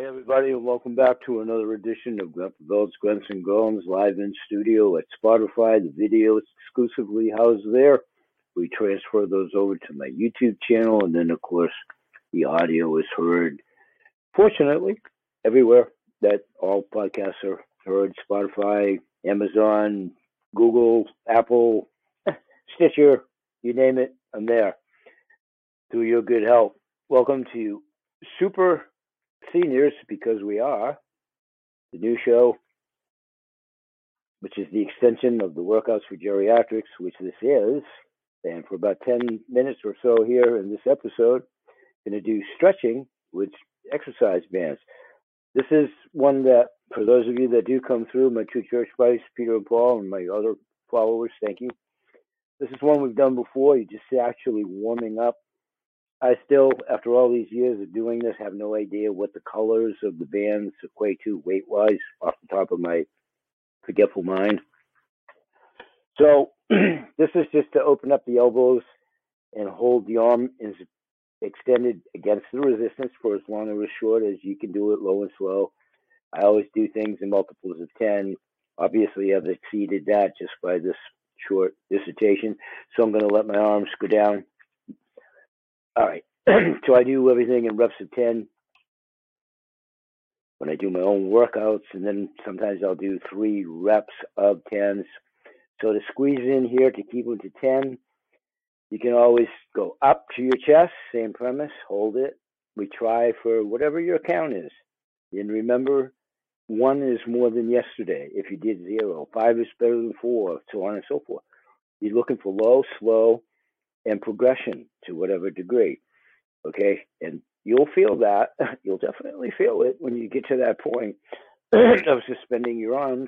everybody, and welcome back to another edition of Grunt Belts, Grunts and Groans live in studio at Spotify. The video is exclusively housed there. We transfer those over to my YouTube channel, and then, of course, the audio is heard, fortunately, everywhere that all podcasts are heard: Spotify, Amazon, Google, Apple, Stitcher, you name it, I'm there. Through your good help. Welcome to Super Seniors, because we are the new show, which is the extension of the Workouts for Geriatrics, which this is. And for about 10 minutes or so here in this episode, I'm going to do stretching with exercise bands. This is one that, for those of you that do come through, my two church buddies, Peter and Paul, and my other followers, thank you. This is one we've done before. You're just actually warming up. I still, after all these years of doing this, have no idea what the colors of the bands equate to weight-wise off the top of my forgetful mind. So this is just to open up the elbows and hold the arm extended against the resistance for as long or as short as you can do it, low and slow. I always do things in multiples of 10. Obviously, I've exceeded that just by this short dissertation. So I'm going to let my arms go down. All right, so I do everything in reps of 10 when I do my own workouts, and then sometimes I'll do 3 reps of 10s. So to squeeze in here to keep them to 10, you can always go up to your chest, same premise, hold it. We try for whatever your count is. And remember, 1 is more than yesterday if you did 0. 5 is better than 4, so on and so forth. You're looking for low, slow, and progression to whatever degree, okay? And you'll feel that. You'll definitely feel it when you get to that point of suspending your arms,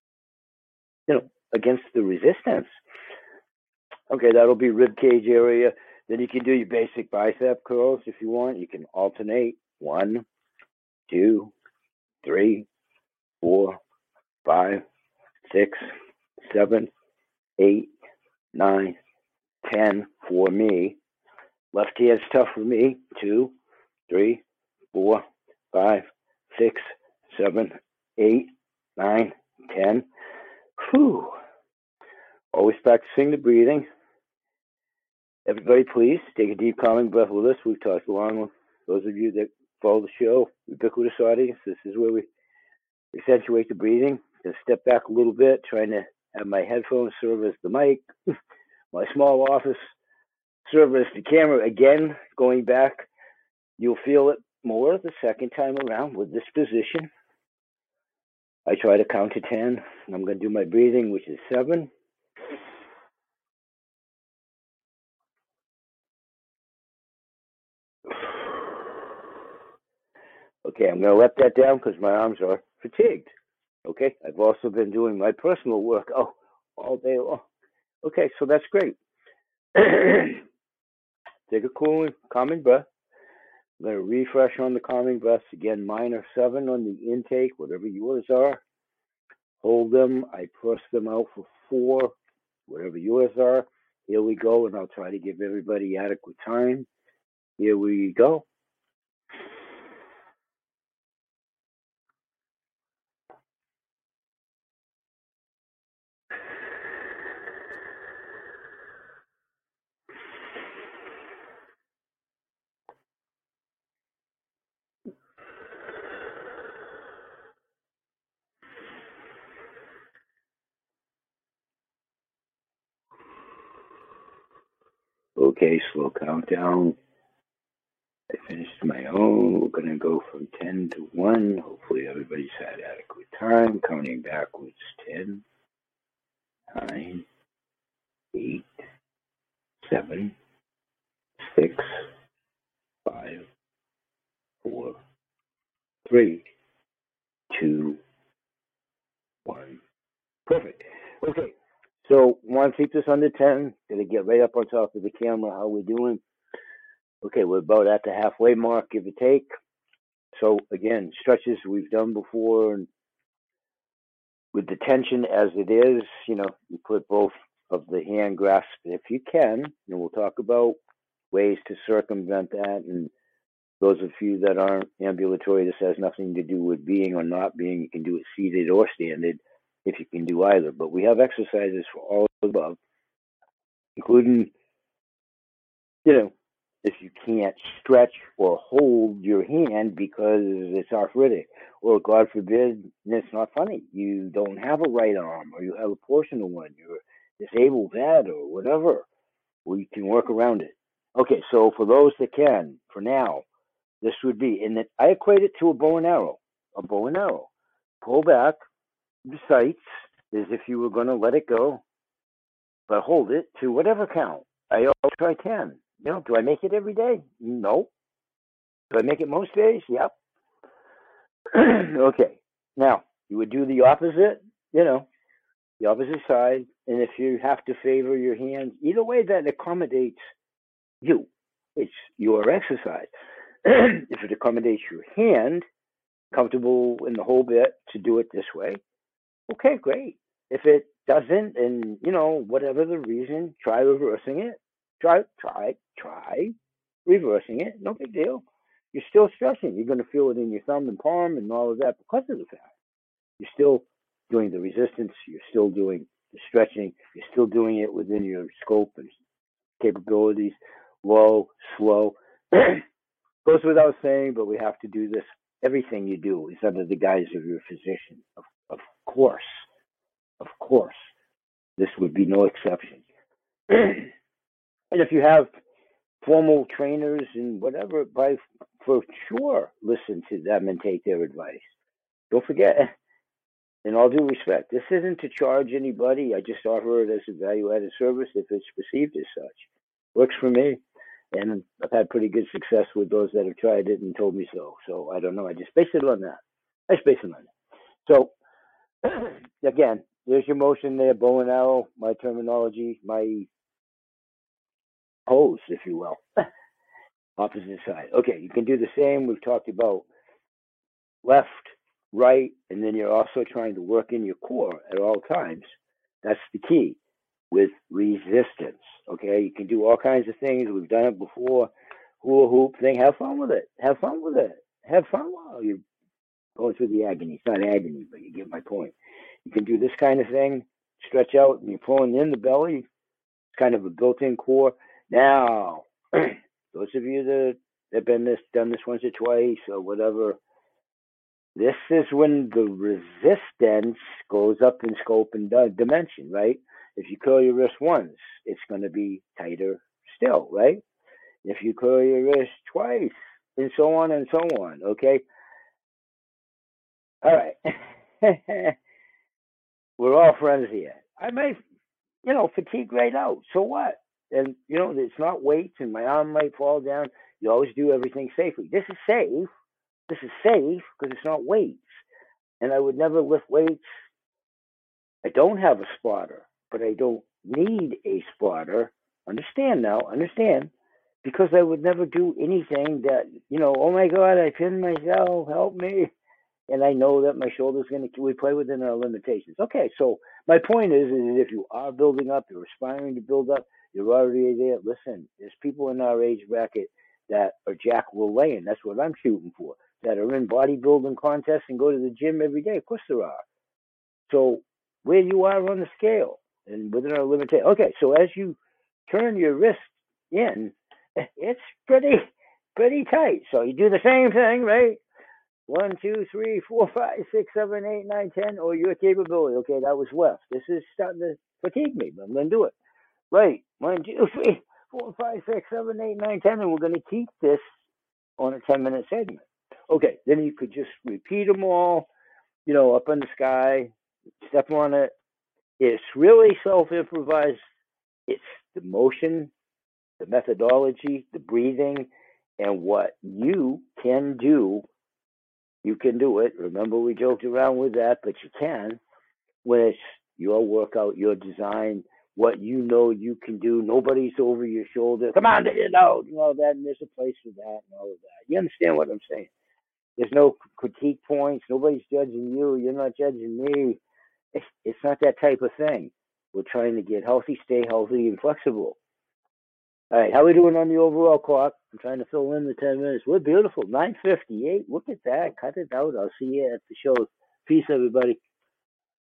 against the resistance. Okay, that'll be rib cage area. Then you can do your basic bicep curls if you want. You can alternate 1, 2, 3, 4, 5, 6, 7, 8, 9, 10 for me. Left hand's tough for me. 2, 3, 4, 5, 6, 7, 8, 9, 10. Whew. Always practicing the breathing. Everybody, please take a deep, calming breath with us. We've talked along with those of you that follow the show, ubiquitous audience. This is where we accentuate the breathing. Just step back a little bit, trying to have my headphones serve as the mic. My small office serve as the camera. Again, going back, you'll feel it more the second time around with this position. I try to count to 10. I'm going to do my breathing, which is 7. Okay, I'm going to let that down because my arms are fatigued. Okay, I've also been doing my personal work all day long. Okay, so that's great. Take a cool, calming breath. I'm going to refresh on the calming breaths. Again, mine are 7 on the intake, whatever yours are. Hold them. I press them out for 4, whatever yours are. Here we go, and I'll try to give everybody adequate time. Here we go. Okay, slow countdown. I finished my own. We're going to go from 10 to 1. Hopefully everybody's had adequate time. Counting backwards, 10, 9, 8, 7, 6, 5, 4, 3, 2, 1. Perfect. Okay, so want to keep this under 10. Going to get right up on top of the camera. How we doing? Okay, we're about at the halfway mark, give or take. So again, stretches we've done before, and with the tension as it is, you put both of the hand grasp if you can, and we'll talk about ways to circumvent that and Those of you that aren't ambulatory, this has nothing to do with being or not being. You can do it seated or standing if you can do either. But we have exercises for all of the above, including, if you can't stretch or hold your hand because it's arthritic, or God forbid, and it's not funny, you don't have a right arm, or you have a portion of one, you're disabled that, or whatever, we can work around it. Okay, so for those that can, for now, this would be, and I equate it to a bow and arrow. A bow and arrow. Pull back the sights as if you were going to let it go, but hold it to whatever count. I always try 10. Do I make it every day? No. Do I make it most days? Yep. Okay. Now, you would do the opposite, the opposite side. And if you have to favor your hands, either way that accommodates you, it's your exercise. If it accommodates your hand, comfortable in the whole bit to do it this way, okay, great. If it doesn't, and whatever the reason, try reversing it. Try reversing it. No big deal. You're still stretching. You're going to feel it in your thumb and palm and all of that because of the fact you're still doing the resistance. You're still doing the stretching. You're still doing it within your scope and capabilities. Low, slow. Goes without saying, but we have to do this. Everything you do is under the guise of your physician. Of course. Of course. This would be no exception. And if you have formal trainers and whatever, for sure, listen to them and take their advice. Don't forget, in all due respect, this isn't to charge anybody. I just offer it as a value-added service if it's perceived as such. Works for me. And I've had pretty good success with those that have tried it and told me so. So I don't know. I just base it on that. So, again, there's your motion there, bow and arrow, my terminology, my pose, if you will. Opposite side. Okay, you can do the same. We've talked about left, right, and then you're also trying to work in your core at all times. That's the key with resistance. Okay, you can do all kinds of things. We've done it before. Hula hoop thing. Have fun with it. Have fun while you're going through the agony. It's not agony, but you get my point. You can do this kind of thing. Stretch out and you're pulling in the belly. It's kind of a built-in core. Now, those of you that have done this once or twice or whatever, this is when the resistance goes up in scope and dimension, right? If you curl your wrist once, it's going to be tighter still, right? If you curl your wrist twice, and so on and so on, okay? All right. We're all friends here. I may, fatigue right out. So what? And, it's not weights and my arm might fall down. You always do everything safely. This is safe. This is safe because it's not weights. And I would never lift weights. I don't have a spotter, but I don't need a spotter. Understand, because I would never do anything that, oh my God, I pinned myself, help me. And I know that my shoulder's we play within our limitations. Okay, so my point is if you are building up, you're aspiring to build up, you're already there. Listen, there's people in our age bracket that are Jack LaLanne. That's what I'm shooting for. That are in bodybuilding contests and go to the gym every day. Of course there are. So where you are on the scale and within our limitation. Okay, so as you turn your wrist in, it's pretty tight. So you do the same thing, right? 1, 2, 3, 4, 5, 6, 7, 8, 9, 10, or your capability. Okay, that was left. This is starting to fatigue me, but I'm going to do it. Right. 1, 2, 3, 4, 5, 6, 7, 8, 9, 10, and we're going to keep this on a 10-minute segment. Okay, then you could just repeat them all, up in the sky, step on it. It's really self-improvised. It's the motion, the methodology, the breathing, and what you can do. You can do it. Remember, we joked around with that, but you can when it's your workout, your design, what you can do. Nobody's over your shoulder. Come on, all that, and there's a place for that and all of that. You understand what I'm saying? There's no critique points. Nobody's judging you. You're not judging me. It's not that type of thing. We're trying to get healthy, stay healthy, and flexible. All right, how we doing on the overall clock? I'm trying to fill in the 10 minutes. We're beautiful. 9:58. Look at that. Cut it out. I'll see you at the show. Peace, everybody.